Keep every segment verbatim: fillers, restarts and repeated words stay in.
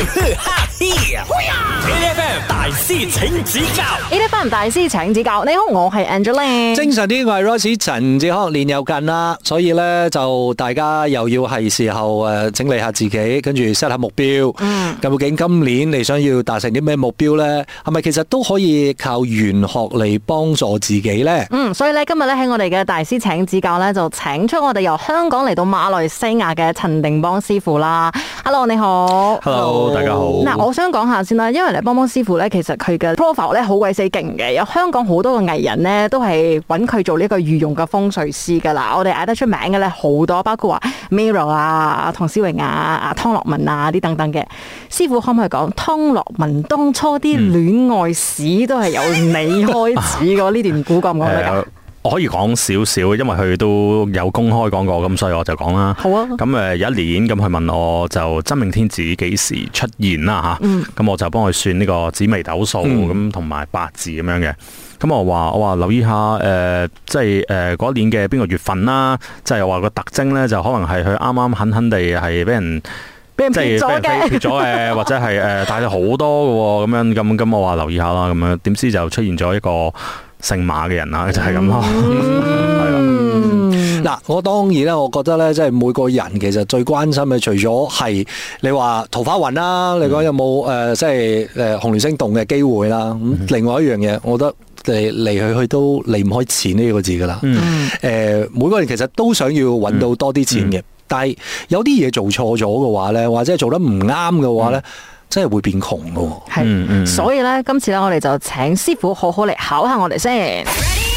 ，A F M 大師請指教 ，A F M 大師請指教。你好，我係 Angeline。 精神啲，我係 Royce 陳志康。年又近啦，所以咧就大家又要係時候誒整理下自己，跟住 set 下目標。嗯，究竟今年你想要達成啲咩目標咧？係咪其實都可以靠玄學嚟幫助自己咧？ 嗯，所以咧今日咧喺我哋嘅大師請指教咧，就請出我哋由香港嚟到馬來西亞嘅陳定邦師傅啦。Hello， 你好。 Hello， 大家好。 嗱，我想講下先啦，因為咧邦邦師傅咧，其實佢嘅 profile 咧好鬼死勁嘅，有香港好多嘅藝人咧都係揾佢做呢個御用嘅風水師噶啦。我哋嗌得出名嘅咧好多，包括話 Mirror 啊、唐詩詠啊、啊湯樂文啊啲等等嘅。師傅可唔可以講湯樂文當初啲戀愛史都係由你開始嘅？呢段古講唔講得㗎？ 我可以講少少，因為佢都有公開講過，咁所以我就講啦。 好啊。 咁誒有一年，咁佢問我就真命天子幾時出現啦嚇？咁、嗯、我就幫佢算呢個紫微斗數咁同埋八字咁樣嘅。咁我話我話留意下誒、呃，即係誒嗰一年嘅邊個月份啦，即係話個特徵咧，就可能係佢啱啱狠狠地係俾人。 俾人撇咗嘅， 撇咗嘅，或者係誒帶咗好多嘅咁樣，咁咁我話留意下啦，咁樣點知就出現咗一個姓馬嘅人啦，就係咁咯。係啦， 嗱，我當然咧，我覺得咧，即係每個人其實最關心嘅，除咗係你話桃花運啦，你講有冇誒，即係誒紅鸞星動嘅機會啦。咁另外一樣嘢，我覺得嚟嚟去去都離唔開錢呢個字噶啦。誒，每個人其實都想要揾到多啲錢嘅。但係有啲嘢做錯咗嘅話咧，或者係做得唔啱嘅話咧，嗯、真係會變窮嘅。 係、嗯嗯，所以咧，今次咧，我哋就請師傅好好嚟考下我哋先。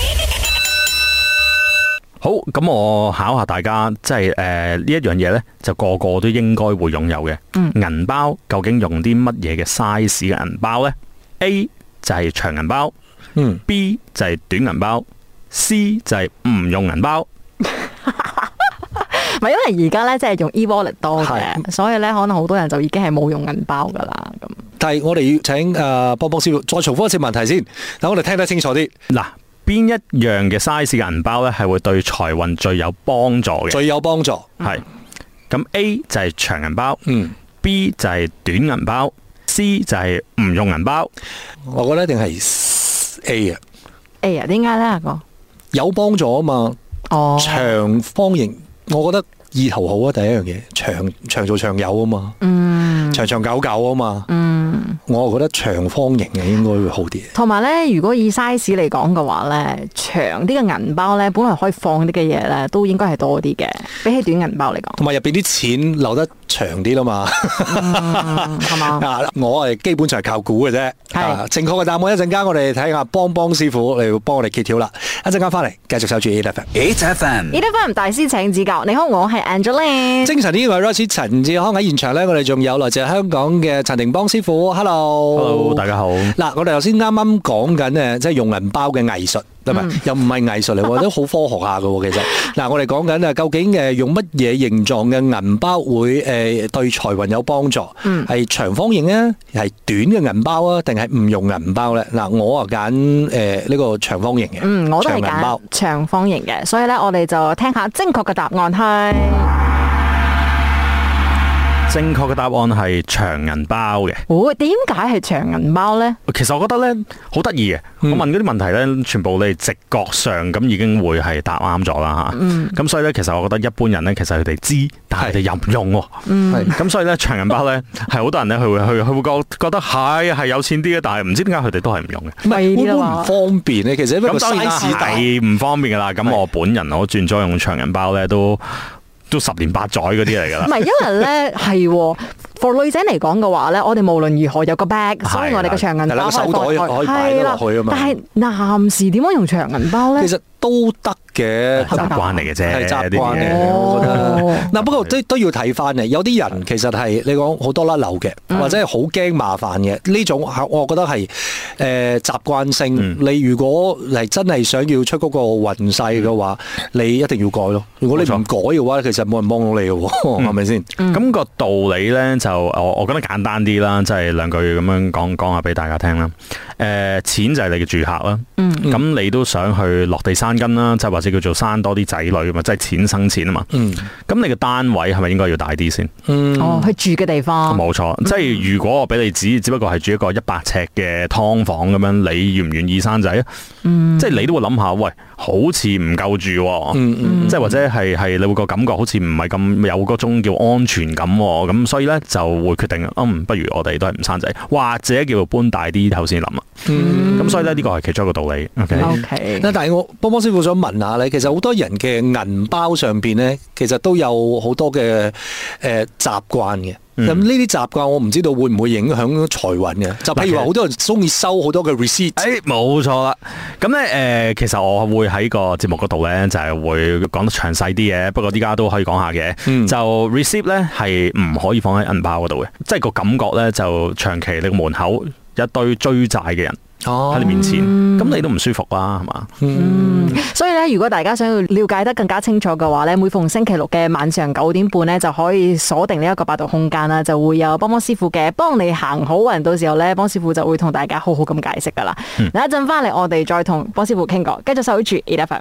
好，咁我考下大家，即係誒呢一樣嘢咧，就個個都應該會擁有嘅。銀、嗯、包究竟用啲乜嘢嘅 size 嘅銀包咧 ？A 就係長銀包，嗯 ，B 就係短銀包 ，C 就係唔用銀包。 唔係，因為而家咧即係用 e-wallet 多嘅，所以咧可能好多人就已經係冇用銀包噶啦。咁， 但係我哋要請誒邦邦師傅再重複一次問題先，等我哋聽得清楚啲。 嗱，邊一樣嘅 size 嘅銀包咧係會對財運最有幫助嘅？ 最有幫助係。咁 A 就係長銀包， 嗯 ，B 就係短銀包 ，C 就係唔用銀包。 我覺得一定係 A 啊。 A 啊？點解咧？阿哥有幫助啊嘛。 哦， 長方形。我覺得意頭好啊，第一樣嘢長長做長有啊嘛， 嗯， 長長久久啊嘛，嗯，我覺得長方形嘅應該會好啲。 同埋咧，如果以 size 嚟講嘅話咧，長啲嘅銀包咧，本來可以放啲嘅嘢咧，都應該係多啲嘅，比起短銀包嚟講。 同埋入邊啲錢留得長啲啦嘛， 係嘛？ 啊，我係基本上係靠估嘅啫。係正確嘅答案，一陣間我哋睇下邦邦師傅嚟幫我哋揭曉啦。一陣間翻嚟繼續守住 A F M，A F M，A F M 大師請指教。你好，我係 Angeline。 精神呢位 Royce 陳志康喺現場咧，我哋仲有來自香港嘅陳定邦師傅。Hello，Hello， 大家好。 嗱，我哋頭先啱啱講緊誒，即係用銀包嘅藝術。嗯、又唔係藝術嚟，都好科學下嘅。其實嗱，我哋講緊啊，究竟誒用乜嘢形狀嘅銀包會誒對財運有幫助？嗯，係長方形啊，係短嘅銀包啊，定係唔用銀包咧？嗱，我啊揀誒呢個長方形嘅。 嗯，我都係揀長方形嘅，所以咧，我哋就聽下正確嘅答案係。 正確嘅答案係長銀包嘅。 哦，點解係長銀包呢？ 其實我覺得咧好得意嘅。我問嗰啲問題咧，全部你直覺上咁已經會係答啱咗啦吓。咁、嗯、所以咧，其實我覺得一般人咧，其實佢哋知，但係佢哋又唔用。咁、嗯、所以咧，長銀包咧係好多人咧，佢會佢佢會覺覺得係係有錢啲嘅，但係唔知點解佢哋都係唔用嘅。 唔係會唔會唔方便咧？其實因為個 size 大唔方便噶啦。咁我本人我轉咗用長銀包咧都。都十年八載嗰啲嚟噶啦， 唔係，因為咧係，for 女仔嚟講嘅話咧，我哋無論如何有個 bag， 所以我哋嘅長銀包手袋可以擺落去啊嘛。 但係男士點樣用長銀包咧？ 其實都得嘅， 習慣嚟嘅啫， 係習慣嘅。我覺得嗱，不過都都要睇翻嘅。有啲人其實係你講好多甩漏嘅，或者係好驚麻煩嘅呢種，我覺得係誒習慣性。你如果係真係想要出嗰個運勢嘅話，你一定要改咯。如果你唔改嘅話，其實冇人幫到你嘅，係咪先？咁個道理咧就我我覺得簡單啲啦，即係兩句咁樣講講下俾大家聽啦。誒，錢就係你嘅住客啦。咁你都想去落地生生根啦，即係或者叫做生多啲仔女啊嘛，即係錢生錢啊嘛。嗯，咁你嘅單位係咪應該要大啲先？ 嗯，哦，去住嘅地方。 冇錯，嗯、即係如果我俾你指，只不過係住一個一百尺嘅劏房咁樣，你願唔願意生仔啊？嗯，即係你都會諗下，喂，好似唔夠住、啊，嗯嗯，即係或者係係你會個感覺好似唔係咁有嗰種叫安全感、啊，咁所以咧就會決定，嗯，不如我哋都係唔生仔，或者叫做搬大啲頭先諗啊。嗯，咁所以咧呢個係其中一個道理。OK，, okay. 但係我幫幫師傅想問下咧，其實好多人嘅銀包上邊咧，其實都有好多嘅誒習慣嘅。咁呢啲習慣我唔知道會唔會影響財運嘅？就譬如話好多人中意收好多嘅 receipt。 誒，冇錯啦。咁咧誒，其實我會喺個節目嗰度咧，就係、是、會講得詳細啲嘅。不過依家都可以講下嘅。嗯、就 receipt 咧係唔可以放喺銀包嗰度嘅，即係個感覺咧就長期你個門口一堆追債嘅人。哦，喺你面前，咁、嗯、你都唔舒服啦，係嘛？ 嗯，所以咧，如果大家想要了解得更加清楚嘅話咧，每逢星期六嘅晚上九點半咧，就可以鎖定呢一個八度空間啦，就會有幫幫師傅嘅幫你行好運，到時候咧，幫師傅就會同大家好好咁解釋噶啦。嗱、嗯，一陣翻嚟，我哋再同幫師傅傾過，繼續守住 A F M。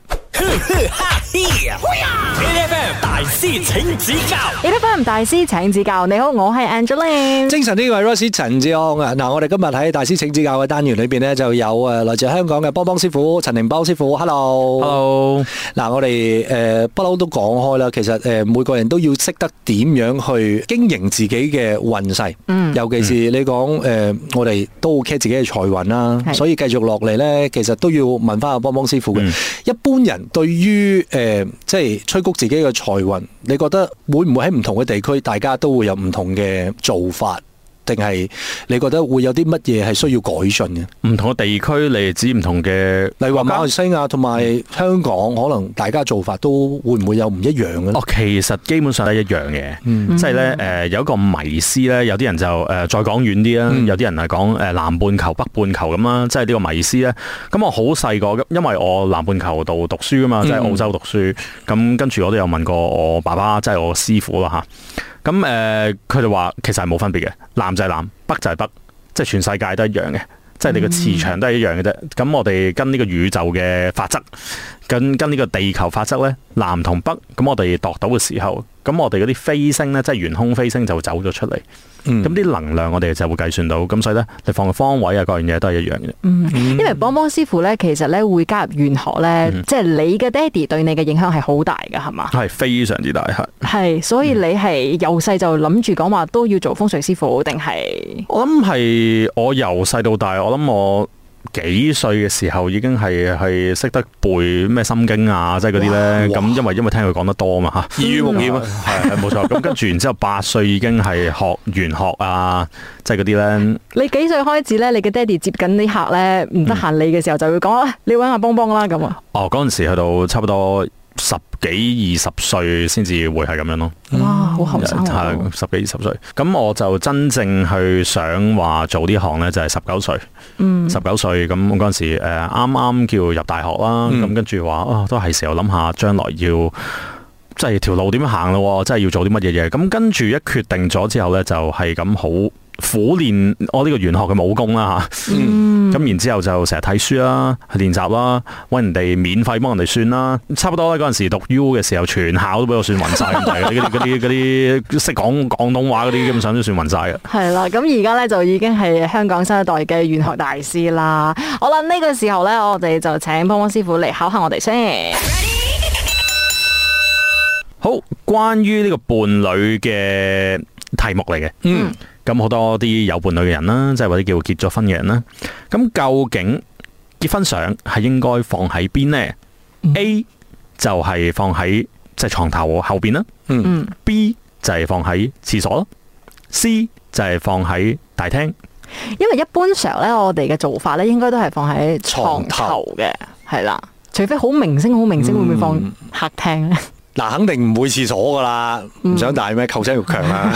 A F M 大師請指教 ，A F M 大師請指教。你好，我係 Angeline。 精神呢位 Royce 陳志安啊，嗱，我哋今日喺大師請指教嘅單元裏邊呢，就有誒來自香港嘅幫幫師傅陳定邦師傅。Hello，Hello。嗱，我哋誒不嬲都講開啦，其實誒每個人都要識得點樣去經營自己嘅運勢。嗯，尤其是你講誒，我哋都好 care 自己嘅財運啦，所以繼續落嚟呢，其實都要問翻阿幫幫師傅嘅。嗯、一般人對於誒、呃、即係催谷自己嘅財運，你覺得會唔會喺唔同嘅地區，大家都會有唔同嘅做法？定係你覺得會有啲乜嘢係需要改進嘅？ 唔同嘅地區，你指唔同嘅， 例如話馬來西亞同埋香港，可能大家做法都會唔會有唔一樣嘅？ 哦，其實基本上係一樣嘅，嗯、即係咧誒有一個迷思咧，有啲人就誒、呃、再講遠啲啦，嗯、有啲人係講誒南半球、北半球咁啦，即係呢個迷思咧。咁我好細個，因為我南半球度讀書噶嘛，即係澳洲讀書，咁、嗯、跟住我都有問過我爸爸，即係我師傅啦嚇。咁誒，佢哋話其實係冇分別嘅，南就係南，北就係北，即係全世界都一樣嘅，即係你個磁場都係一樣嘅啫。咁、嗯、我哋跟呢個宇宙嘅法則，跟跟呢個地球法則咧，南同北，咁我哋度到嘅時候，咁我哋嗰啲飛星咧，即係懸空飛星就會走咗出嚟。咁啲、嗯、能量我哋就會計算到，咁所以咧，你放個方位啊，各樣嘢都係一樣嘅。 嗯，因為幫幫師傅咧，其實咧會加入玄學咧，嗯、即係你嘅爹哋對你嘅影響係好大㗎，係嘛？係非常之大，係。 係，所以你係由細就諗住講話都要做風水師傅，定係？ 我諗係我由細到大，我諗我。幾歲嘅時候已經係係識得背咩心經啊，即係嗰啲咧。咁因為因為聽佢講得多嘛吓，耳濡目染啊，係係冇錯。咁跟住然之後八歲已經係學玄學啊，即係嗰啲咧。你幾歲開始咧？你嘅爹哋接緊啲客咧，唔得閒理嘅時候就會講啊，你搵阿幫幫啦咁啊。哦， 嗰陣時去到差不多十幾二十歲先至會係咁樣咯。 哇，好後生啊！ 係十幾二十歲，咁我就真正去想話做呢行咧，就係十九歲。嗯，十九歲咁嗰陣時，誒啱啱叫入大學啦。咁跟住話，啊都係時候諗下將來要即係條路點樣行咯，即係要做啲乜嘢嘢。咁跟住一決定咗之後咧，就係咁好苦練我呢個玄學嘅武功啦吓。嗯，咁然之後就成日睇書啦，去練習啦，搵人哋免費幫人哋算啦。差不多咧嗰陣時讀 U 嘅時候，全校都俾我算暈晒咁滯，嗰啲嗰啲嗰啲識講廣東話嗰啲，基本上都算暈晒嘅。 係啦，咁而家咧就已經係香港新一代嘅玄學大師啦。好啦，呢個時候咧，我哋就請幫幫師傅嚟考下我哋先。 好，關於呢個伴侶嘅題目嚟嘅。嗯。咁好多啲有伴侶嘅人啦，即係或者叫結咗婚嘅人啦。咁究竟結婚相係應該放喺邊呢？嗯、A 就係放喺即係床頭後邊啦。嗯。B 就係放喺廁所咯。C 就係放喺大廳。 因為一般上咧，我哋嘅做法咧，應該都係放喺床頭嘅，係啦。除非好明星，好明星會唔會放客廳咧？ 嗱，肯定唔會廁所噶啦，唔、嗯、想大咩求生欲強啊！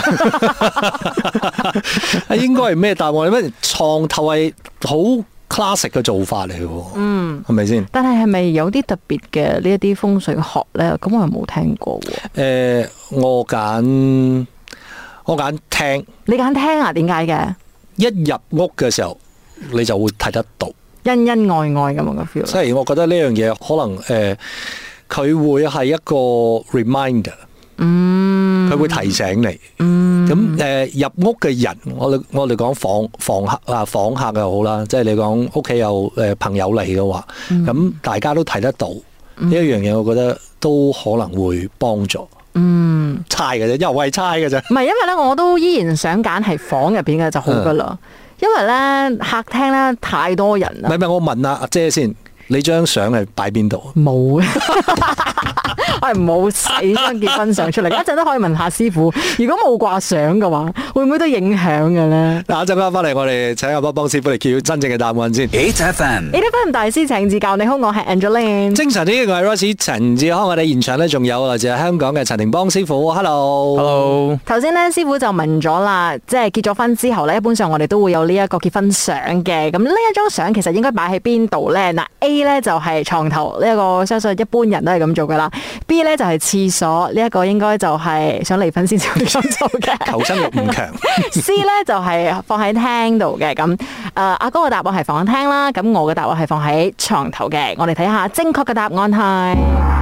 應該係咩答案？咩床頭係好 classic 嘅做法嚟嘅，嗯，係咪先？ 但係係咪有啲特別嘅呢一啲風水學咧？咁我又冇聽過喎。誒、 呃，我揀我揀廳， 你揀廳啊？點解嘅？ 一入屋嘅時候，你就會睇得到。 恩恩愛愛咁樣嘅 feel。 即係我覺得呢樣嘢可能誒，佢、呃、會係一個 reminder，嗯，佢會提醒你，嗯，咁誒、呃、入屋嘅人，我哋我哋講房房客啊，房客又好啦，即係你講屋企有誒朋友嚟嘅話，咁、嗯、大家都睇得到呢一、嗯、樣嘢，我覺得都可能會幫助。嗯，猜嘅啫，又係猜嘅啫。 唔係，因為咧，我都依然想揀係房入邊嘅就好噶啦。嗯、因為咧客廳咧太多人啦。唔係唔係，我問阿阿姐先，你張相係擺邊度？冇。我係冇洗張結婚相出嚟，一陣都可以問下師傅。如果冇掛相嘅話，會唔會都影響嘅咧？嗱，一陣間翻嚟，我哋請阿幫幫師傅嚟揭曉真正嘅答案先。H F M，H F M 大師請指教。你好，我係 Angeline。精神啲，我係 Royce 陳志康。我哋現場咧仲有來自香港嘅陳庭邦師傅。Hello，Hello。頭先咧，師傅就問咗啦，即係結咗婚之後咧，一般上我哋都會有呢一個結婚相嘅。咁呢一張相其實應該擺喺邊度咧？嗱 ，A 咧就係床頭呢一個，相信一般人都係咁做噶啦。B 咧就係廁所，呢一個應該就係想離婚先至會咁做嘅。求生欲唔強。C 咧就係放喺廳度嘅，咁誒阿哥嘅答案係放喺廳啦，咁我嘅答案係放喺床頭嘅。我哋睇下正確嘅答案係，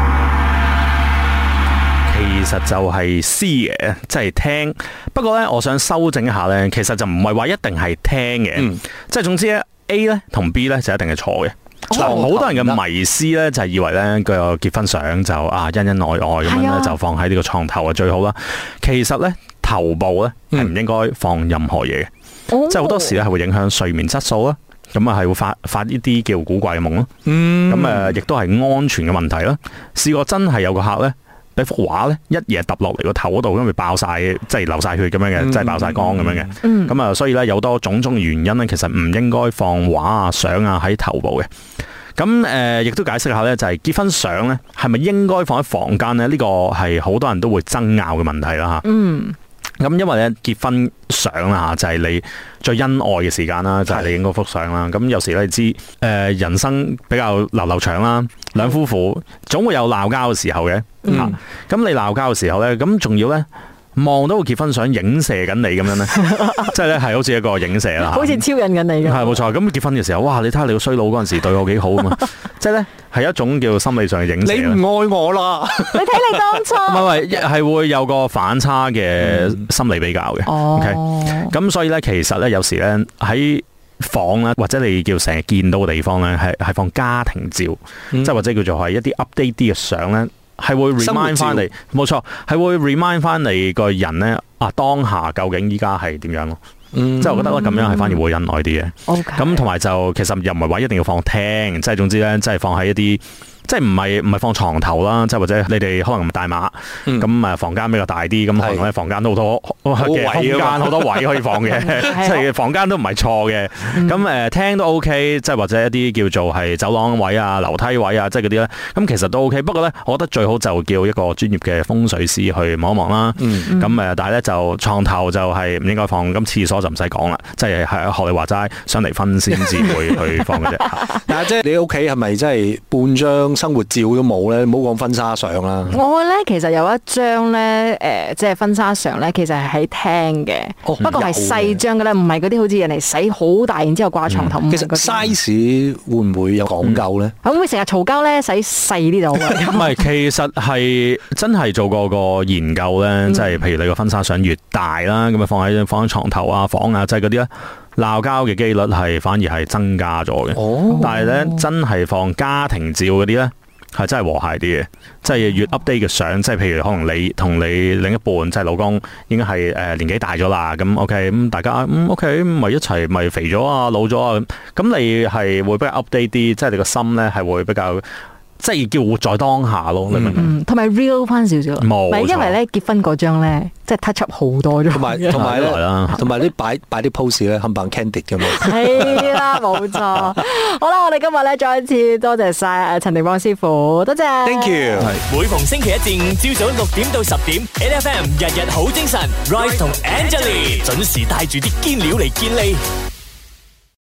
其實就係 C 嘅，即係廳。不過咧，我想修正一下咧，其實就唔係話一定係廳嘅，嗯、即係總之咧 A 咧同 B 咧就一定係錯嘅。好、哦、多人嘅迷思咧，就係以為咧個結婚相就啊恩恩愛愛咁樣咧，就放喺呢個床頭啊最好啦。其實咧頭部咧係唔應該放任何嘢嘅，嗯、即係好多時咧係會影響睡眠質素啦。咁啊係會發發呢啲叫古怪嘅夢咯。咁誒亦都係安全嘅問題啦。試過真係有個客咧，俾幅畫咧一嘢揼落嚟個頭嗰度，咁咪爆晒，即係流晒血咁樣嘅，嗯、即係爆晒光咁樣嘅。咁啊、嗯，所以咧有多種種原因咧，其實唔應該放畫啊、相啊喺頭部嘅。咁誒，亦、呃、都解釋下咧，就係、是、結婚相咧，係咪應該放喺房間咧？呢、這個係好多人都會爭拗嘅問題啦嚇。嗯。咁因為咧結婚相啦嚇，就係、是、你最恩愛嘅時間啦，就係、是、你影嗰幅相啦。咁的有時咧，你知誒、呃、人生比較流流長啦，兩夫婦總會有鬧交嘅時候嘅嚇。咁、嗯啊、你鬧交嘅時候咧，咁仲要咧望到個結婚相影射緊你咁樣咧，即係咧係好似一個影射啦，好似超引緊你嘅。係冇錯。咁結婚嘅時候，哇！你睇下你個衰佬嗰陣時對我幾好啊嘛，即係咧係一種叫心理上嘅影射。你唔愛我啦！你睇你當初唔係唔係係會有個反差嘅心理比較嘅。哦、嗯。咁、okay? 所以咧，其實咧有時咧喺房咧，或者你叫成日見到嘅地方咧，係係放家庭照，即係、嗯、或者叫做係一啲 update 啲嘅相咧。係會 remind 翻你，冇錯，係會 remind 翻你個人咧啊，當下究竟依家係點樣咯？嗯、即係我覺得咧咁樣係反而會恩愛啲嘅。咁同埋就其實又唔係話一定要放廳，即係總之咧，即係放喺一啲。即係唔係唔係放床頭啦，即係或者你哋可能唔大碼，咁誒、嗯、房間比較大啲，咁可能咧房間都好多嘅空間，好多位可以放嘅，即係房間都唔係錯嘅。咁誒廳都 OK，即係或者一啲叫做係走廊位啊、樓梯位啊，即係嗰啲咧，咁其實都 OK。不過咧，我覺得最好就叫一個專業嘅風水師去望一望啦。咁誒、嗯，但係咧就床頭就係唔應該放，咁廁所就唔使講啦，即係係學你話齋，想離婚先至會去放嘅啫。 但係即係你屋企係咪真係半張生活照都冇咧？唔好講婚紗相啦。 我咧其實有一張咧，誒、呃，即係婚紗相咧，其實係喺廳嘅，哦、不過係細張嘅咧，唔係嗰啲好似人哋洗好大，然之後掛床頭。嗯、其實 size 會唔會有講究咧？ 會唔會成日嘈交咧？洗細啲就好。 唔係，其實係真係做過個研究咧，即係、嗯、譬如你個婚紗相越大啦，咁啊放喺放喺床頭啊、房啊，即係嗰啲咧。鬧交嘅機率係反而係增加咗嘅，哦、但係咧真係放家庭照嗰啲咧係真係和諧啲嘅，即係越 update 嘅相，即係譬如可能你同你另一半即係老公已經係誒年紀大咗啦，咁 OK 咁大家嗯 OK 咪一齊咪肥咗啊老咗啊，咁你係會比較 update 啲，即係你個心咧係會比較。即係叫活在當下咯，你明唔明？ 同埋 real 翻少少， 冇錯， 因為咧結婚嗰張咧，即係 touch up 好多咗， 同埋同埋咧，同埋啲擺擺啲 pose 咧，冚唪唥 candid 嘅嘛。係啦，冇錯。好啦，我哋今日咧再一次多謝晒陳庭邦師傅，多謝。 Thank you。 每逢星期一至五朝早六點到十點 ，N F M 日日好精神 ，Royce 同 Angeline 準時帶住啲堅料嚟見你。